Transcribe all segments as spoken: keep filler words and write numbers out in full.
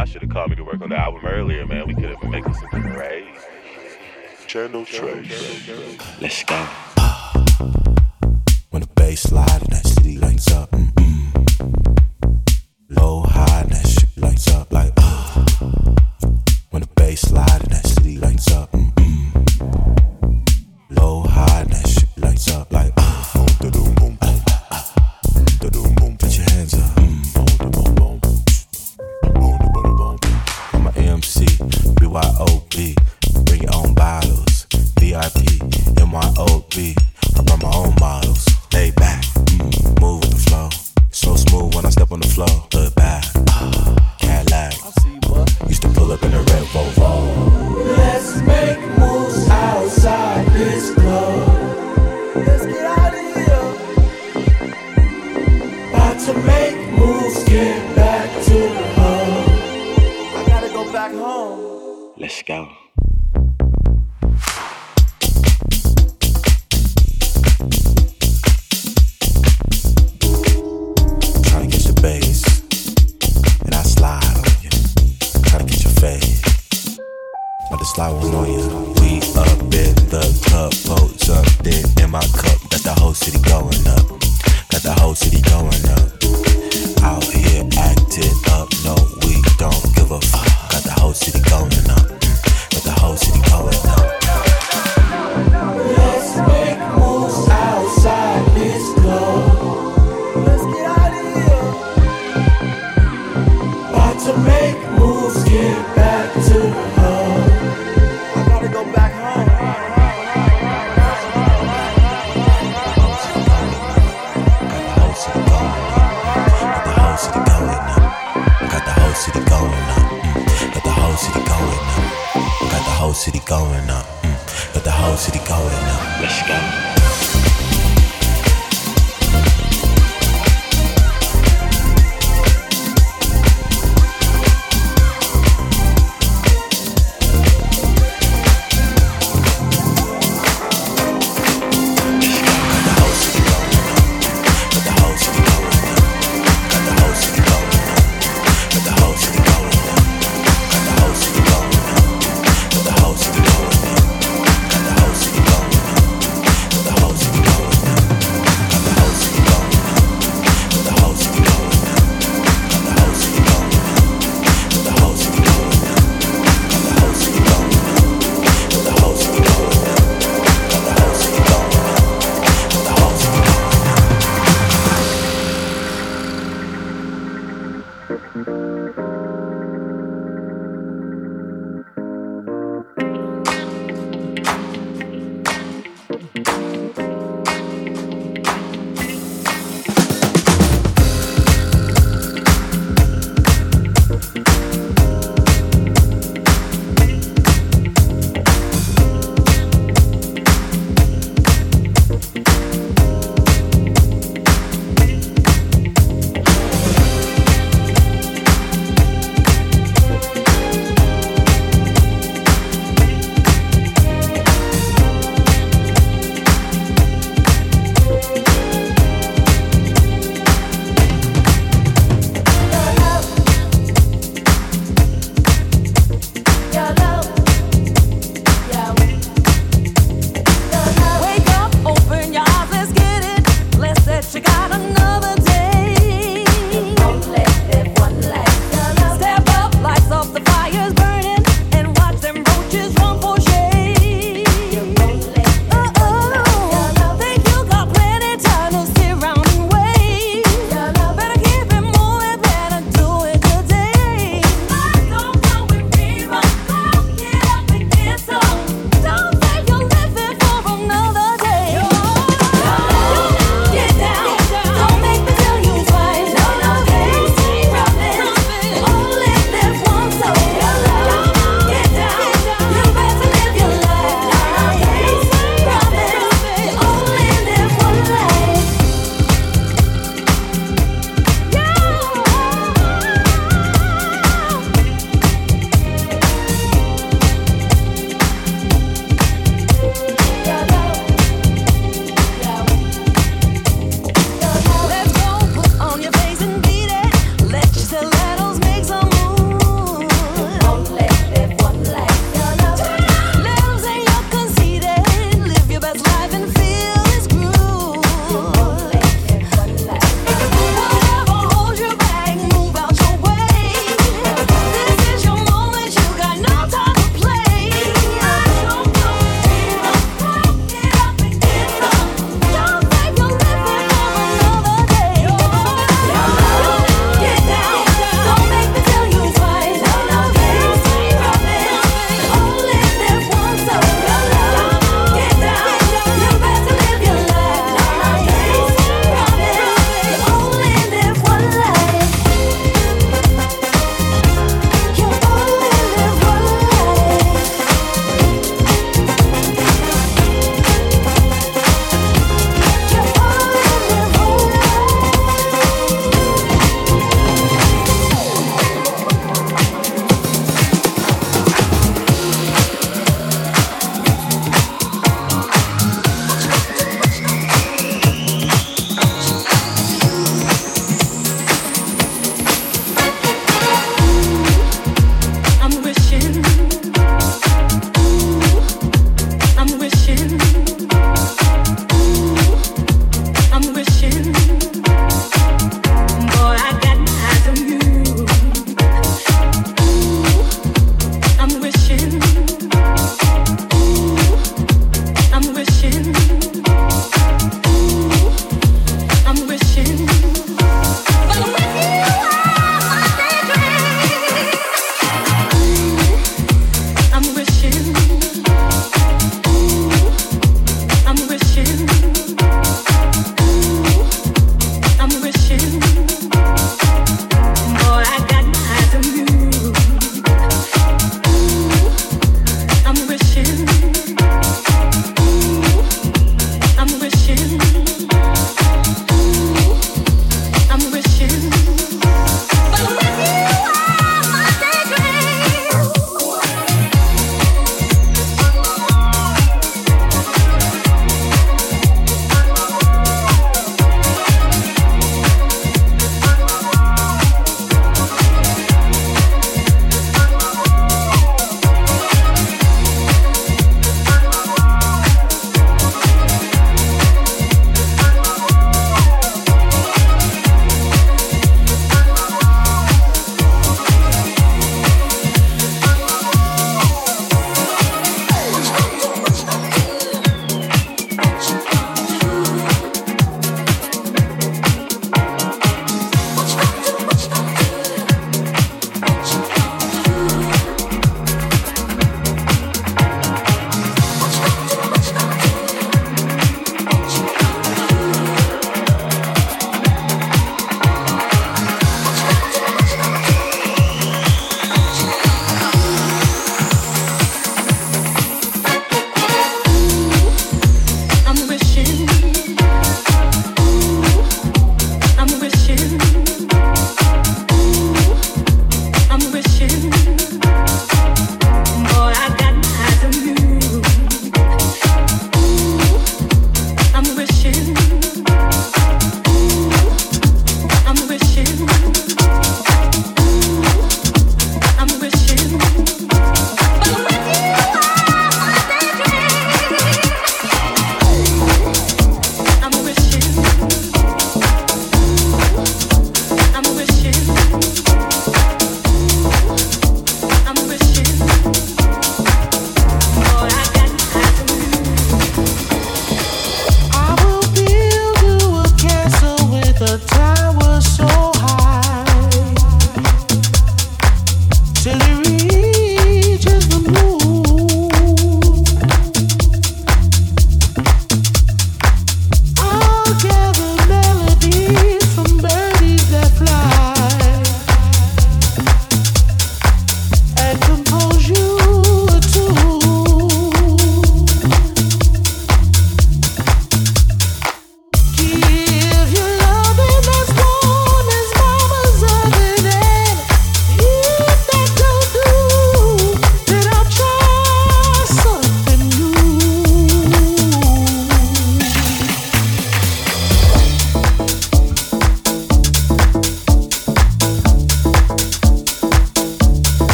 y'all should have called me to work on the album earlier, man. We could have been making something crazy. Channel Trace. Let's go. When the bass slide and that city lights up, mm-mm. Low, high, and that shit lights up like, uh. When the bass slide and that city lights up, mm-mm. Low, high, and that shit lights up like, uh. Boom, da-doom, boom, boom, uh, da-doom, boom. Put your hands up, mm. Boom, da-boom, boom, boom, da-boom, boom. I'm a M C, B Y O B. Bring your own bottles, V I P, M Y O B. I brought my own models. Lay back, mm, move with the flow. So smooth when I step on the floor. Look back, uh, Cadillac. Used to pull up in a red Volvo. Let's make moves outside this club. Let's get out of here. About to make moves, get back to the hub. I gotta go back home. Let's go. Bass, and I slide on you. Try to get your fade, but the slide won't on you. We up in the club, boats up, then in my cup. Got the whole city going up. Got the whole city going up. Out here acting up, no, we don't give a fuck. Got the whole city going up. Got the whole city going up. Let's make moves outside this club. Let's get out of here. About to make moves, get back to the hub. I gotta go back home. Got the whole city going up. Got the whole city going up. Got the whole city going up. Mm. Got the whole city going up. Got the whole city going up. Mm. Got the whole city going up. Let's go. Got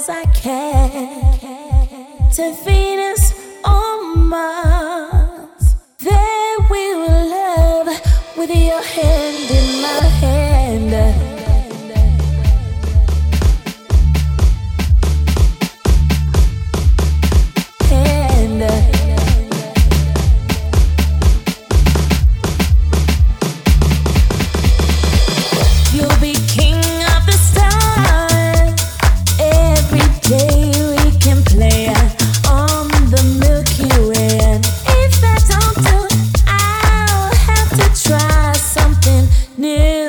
as I can to Venus or Mars. There we will love with your hand in my hand. Hand. You'll be king of the stars. Every day we can play on the Milky Way. And if that don't do it, I'll have to try something new.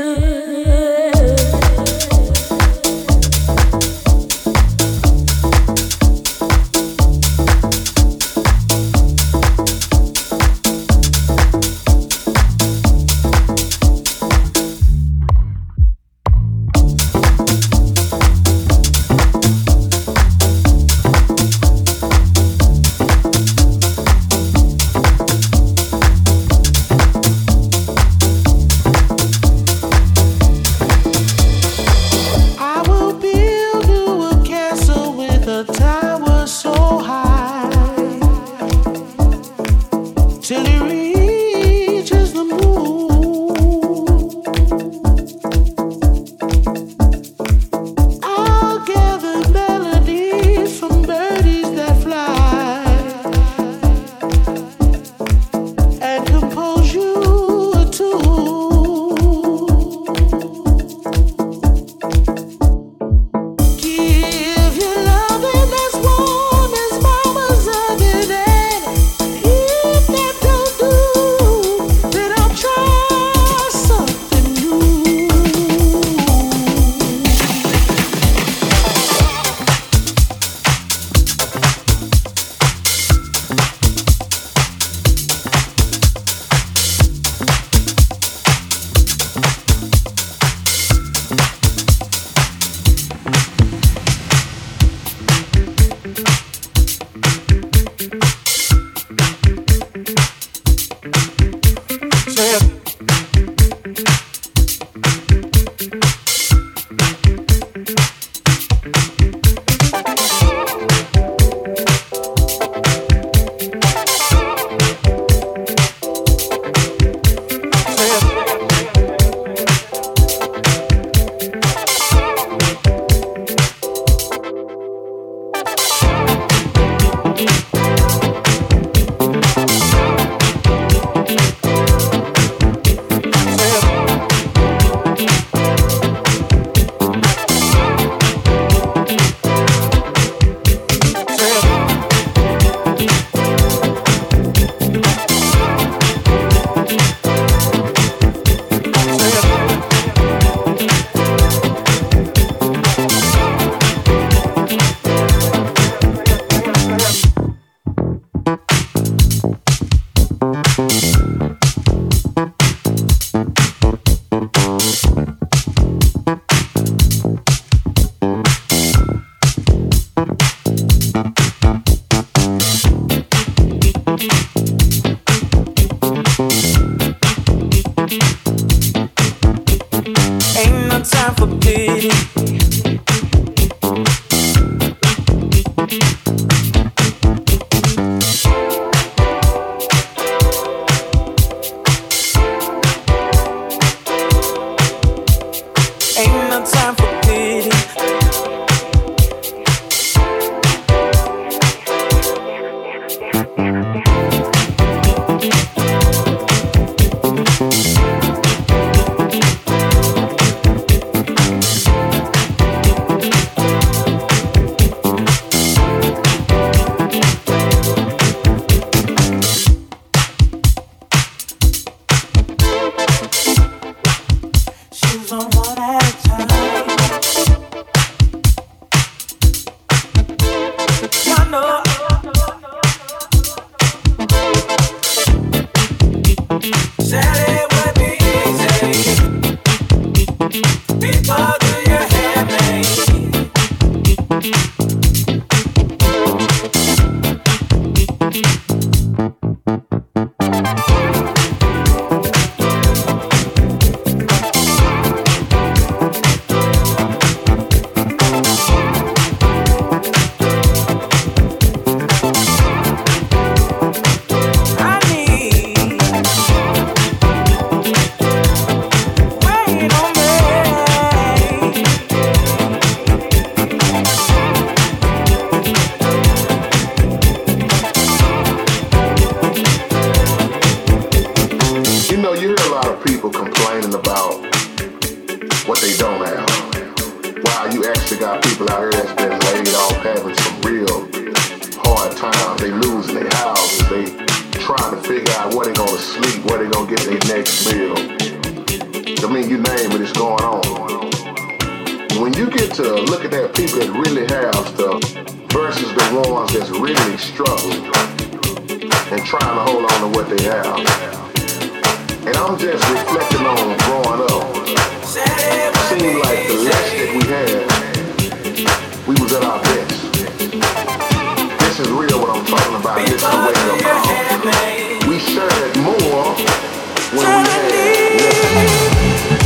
know, you hear a lot of people complaining about what they don't have. Wow, you actually got people out here that's been laid off having some real hard times. They losing their houses. They trying to figure out where they gonna sleep, where they gonna get their next meal. I mean, you name it, it's going on. When you get to look at that people that really have stuff versus the ones that's really struggling and trying to hold on to what they have. And I'm just reflecting on growing up. It seemed like the less that we had, we was at our best. This is real what I'm talking about. This is the wake up call. We shared more when we had less.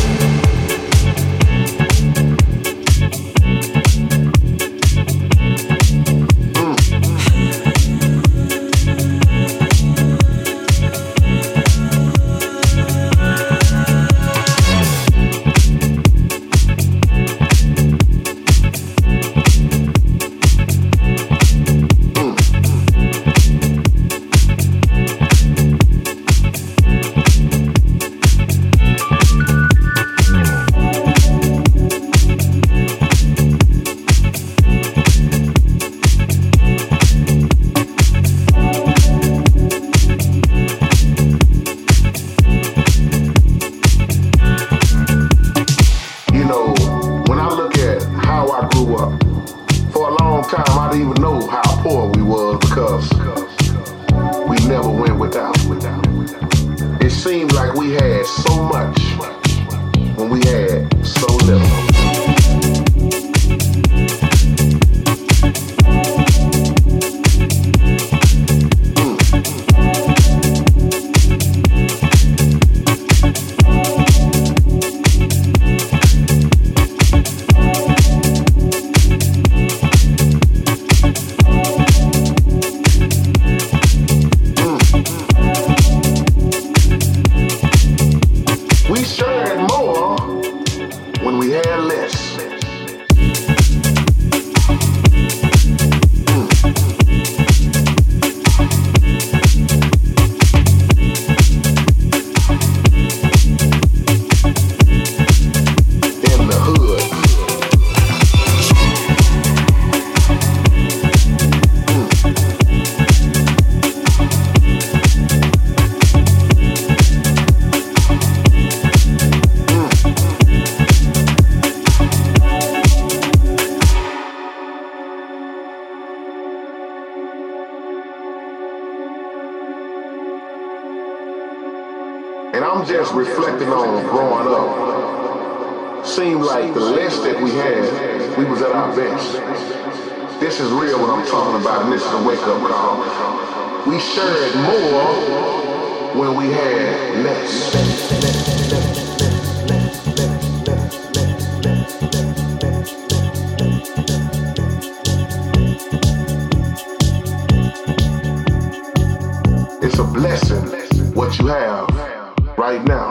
And I'm just reflecting on growing up. Seemed like the less that we had, we was at our best. This is real what I'm talking about, and this is a wake-up call. We shared more when we had less. It's a blessing what you have right now.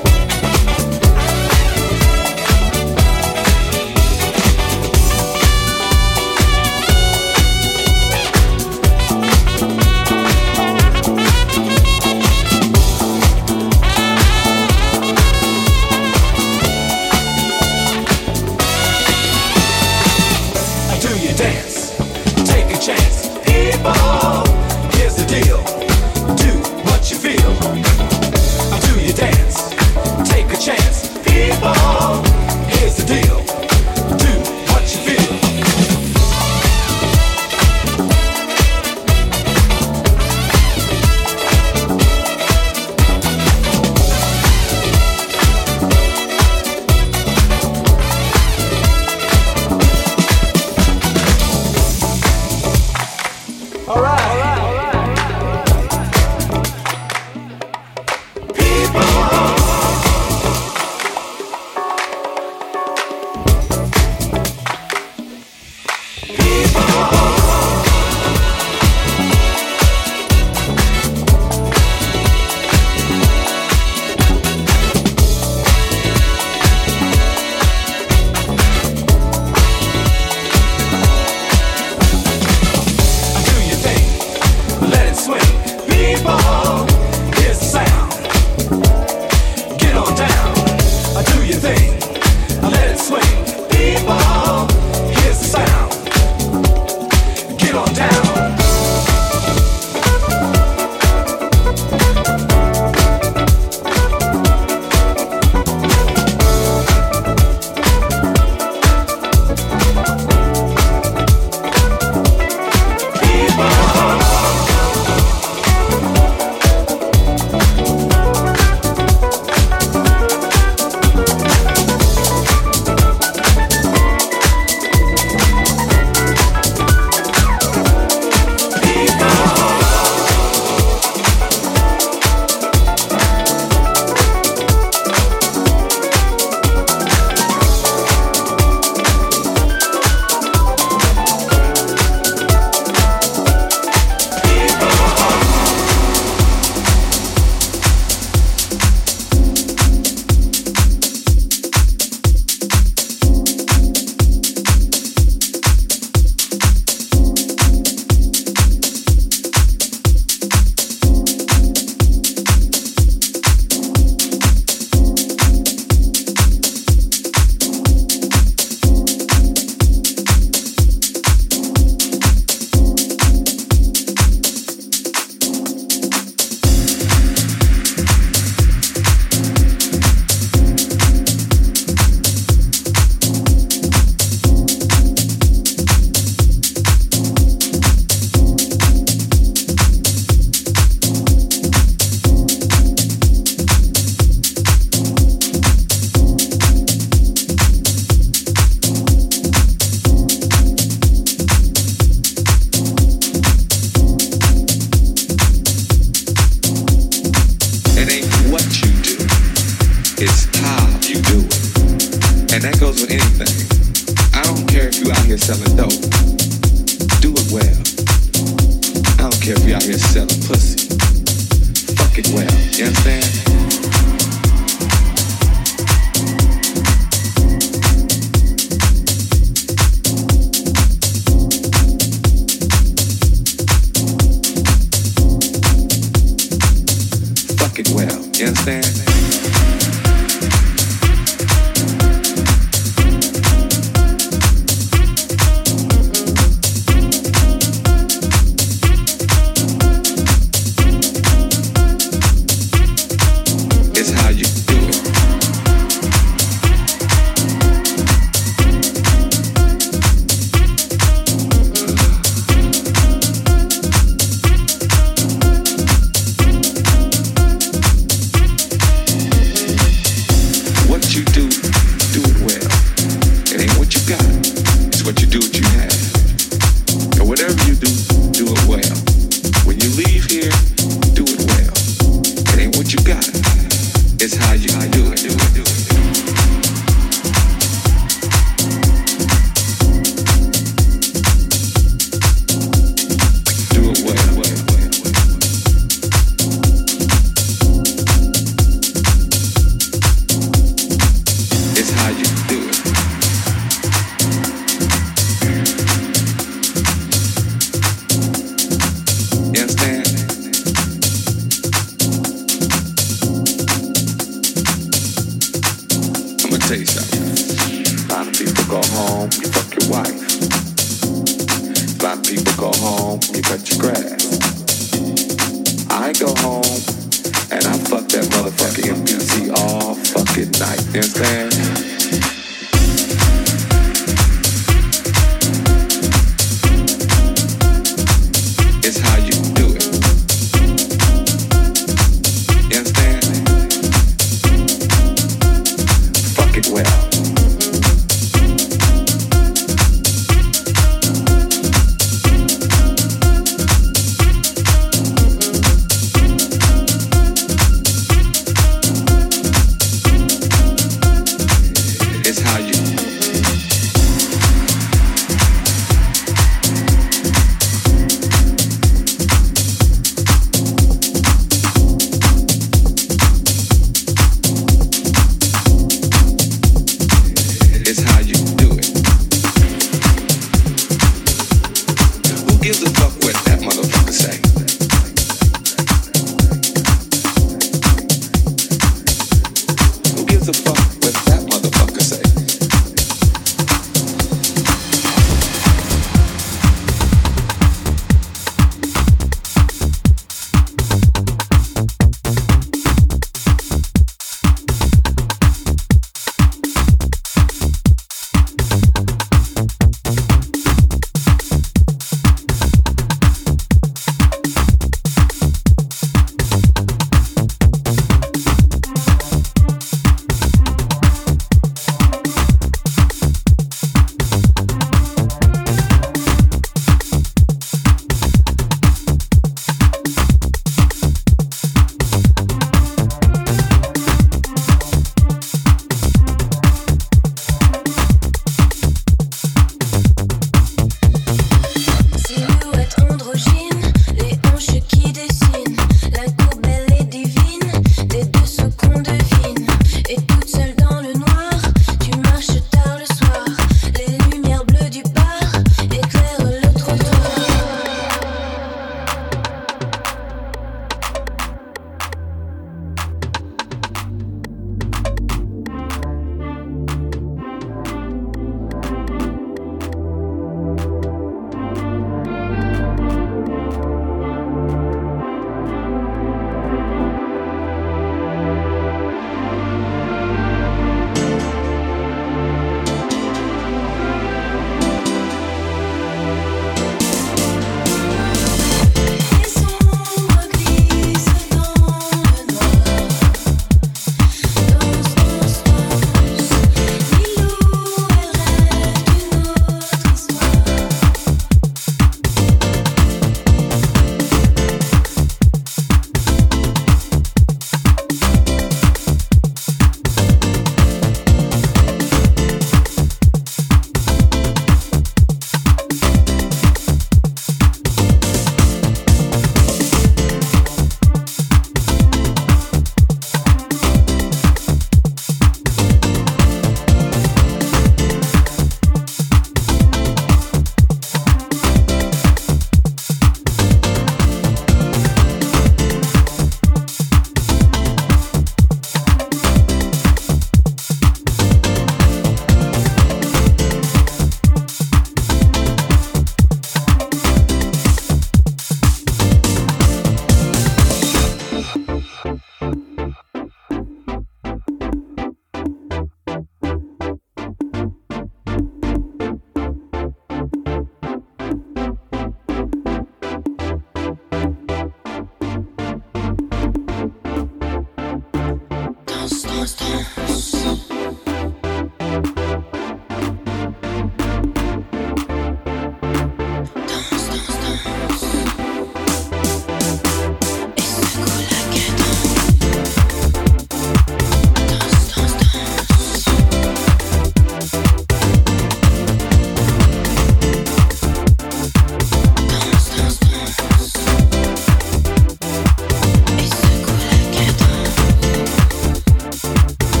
Et secoue la cadence.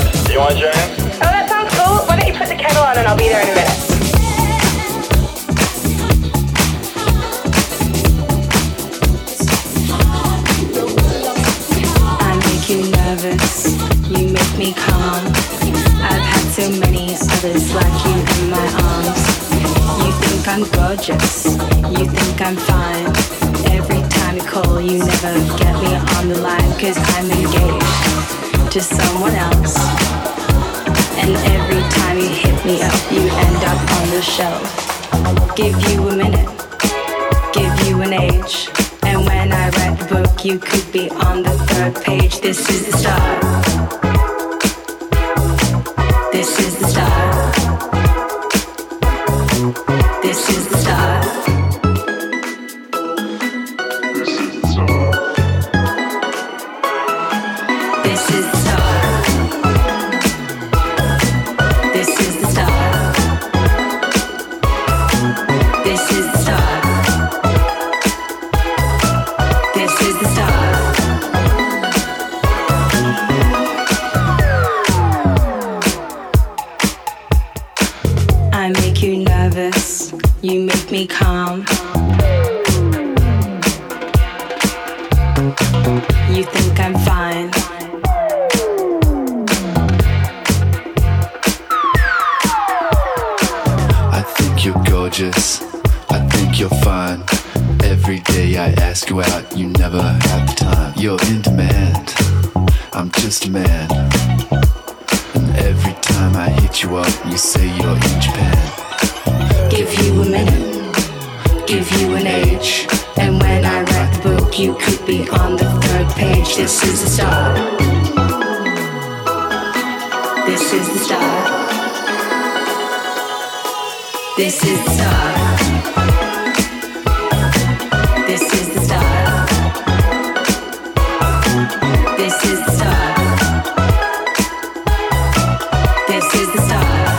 You want to join in? Oh, that sounds cool. Why don't you put the kettle on and I'll be there in a minute. I make you nervous, you make me calm. I've had so many others like you in my arms. You think I'm gorgeous, you think I'm fine. Every time you call, you never get me on the line, 'cause I'm engaged to someone else. And every time you hit me up, you end up on the shelf. Give you a minute, give you an age, and when I write the book, you could be on the third page. This is the start. This is the start. This is the start. This is the start. This is the start. This is the start. This is the start. I make you nervous, you make me calm. You think I'm fine. I think you're gorgeous, I think you're fine. Every day I ask you out, you never have the time. You're in demand, I'm just a man. And every time I hit you up, you say you're in Japan. Give you a minute, give you an age, and when I write the book, you could be on the third page. This is the start. This is the start. This is the start. This is the start. This is the start. This is the start.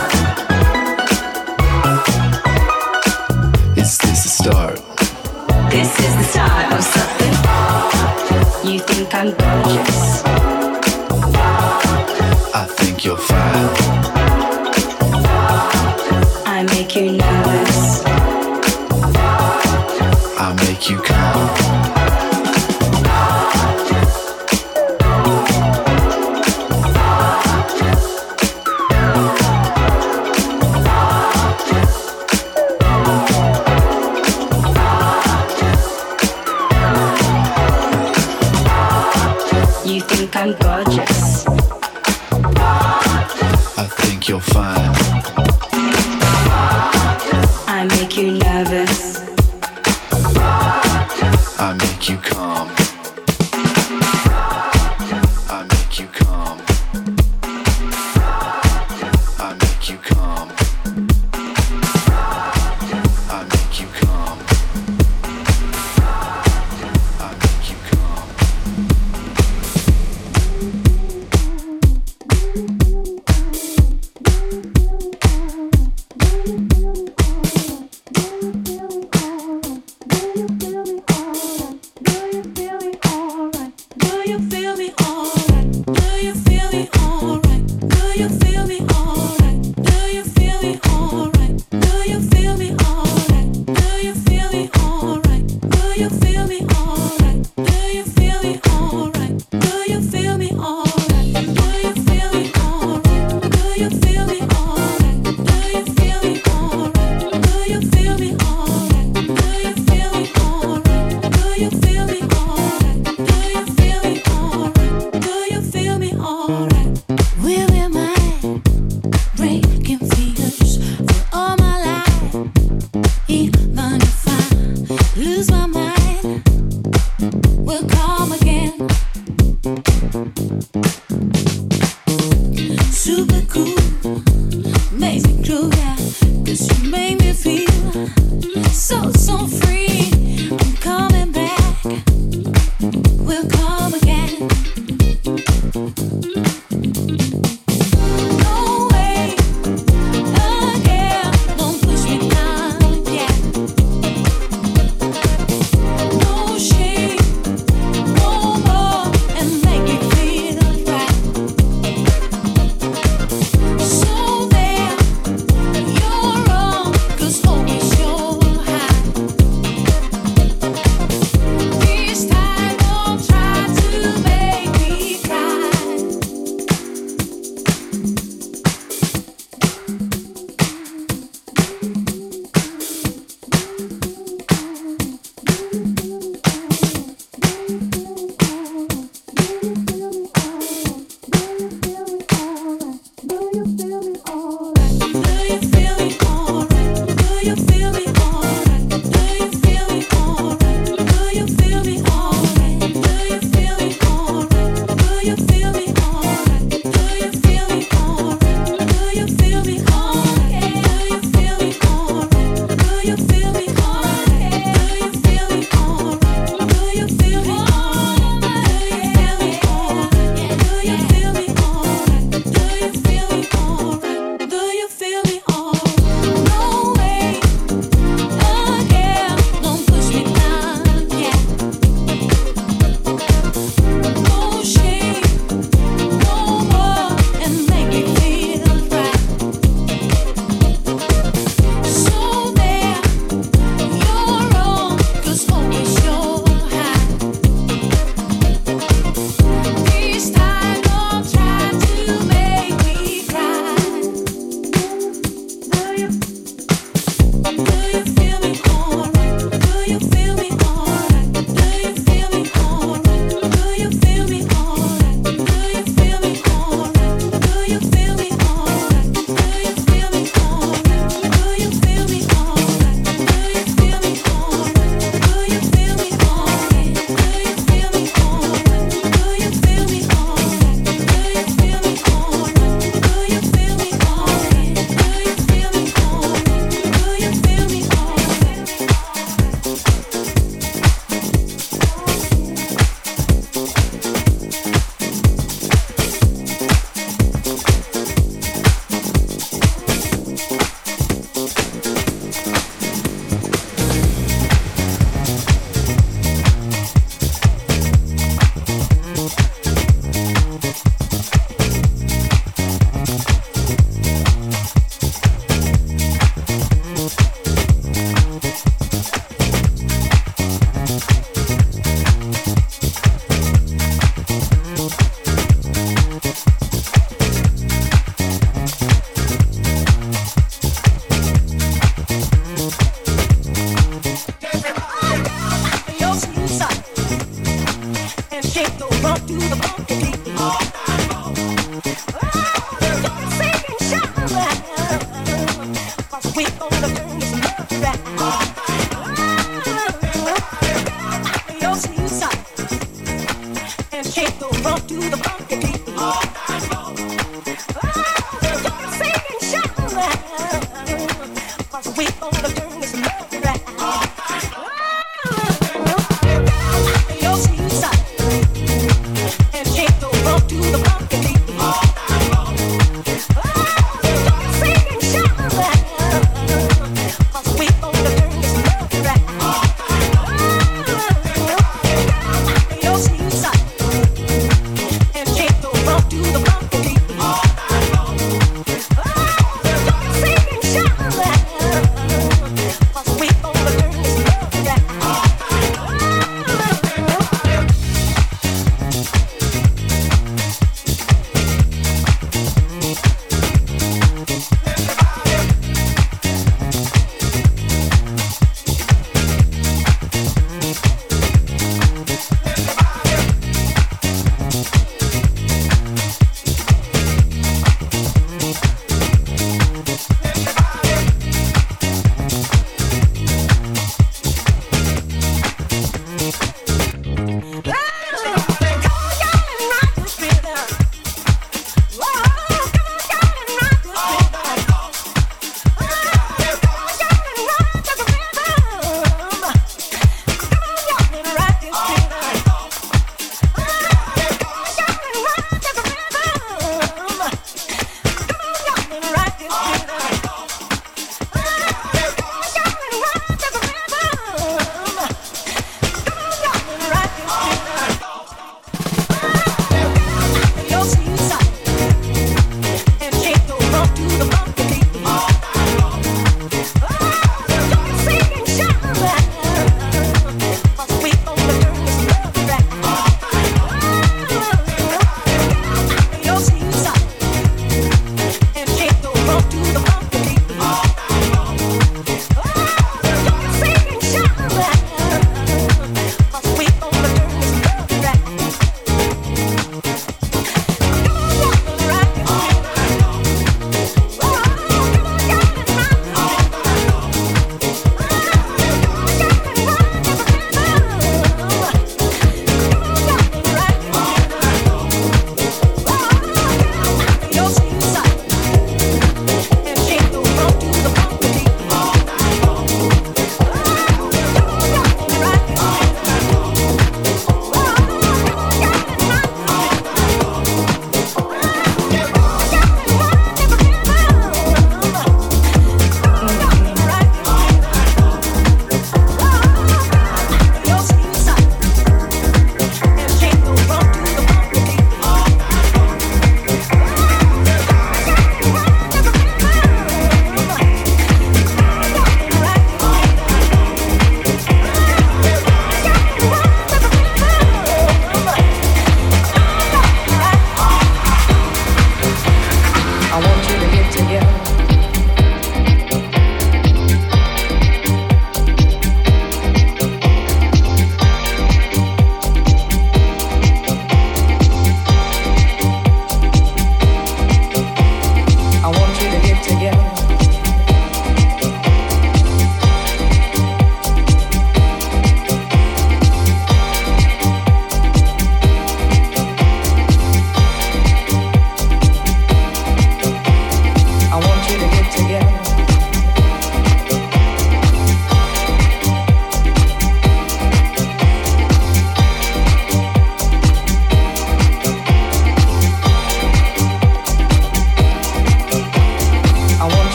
Is this the start? This is the start of something. You think I'm gorgeous. I think you're fine. I make you nervous. I make you calm. You think I'm gorgeous. I think you're fine. I make you nervous. I make you calm. I make you calm. I make you calm. I make you calm. I make you calm.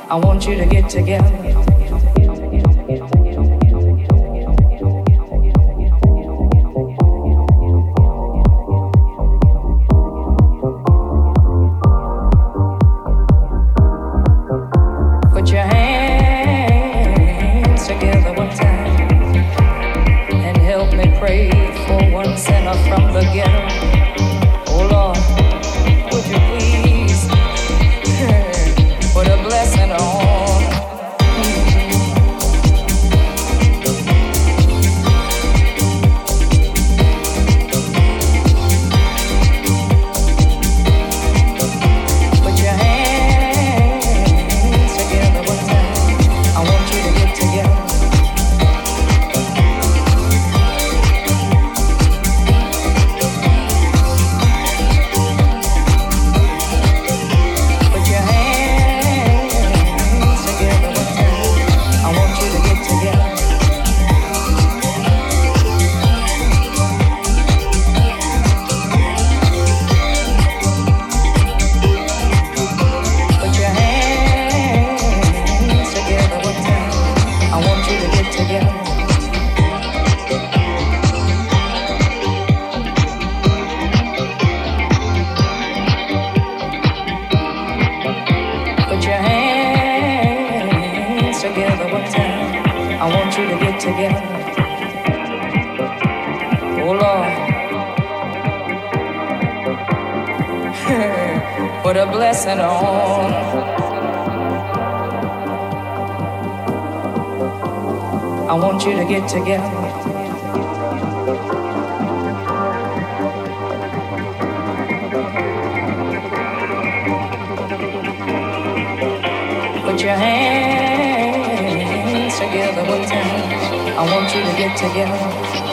I want you to get together. Put your hands together one time and help me pray for one sinner from the ghetto. Oh Lord, would you please put a blessing on? Put a blessing on. I want you to get together. Put your hands together one time. I want you to get together.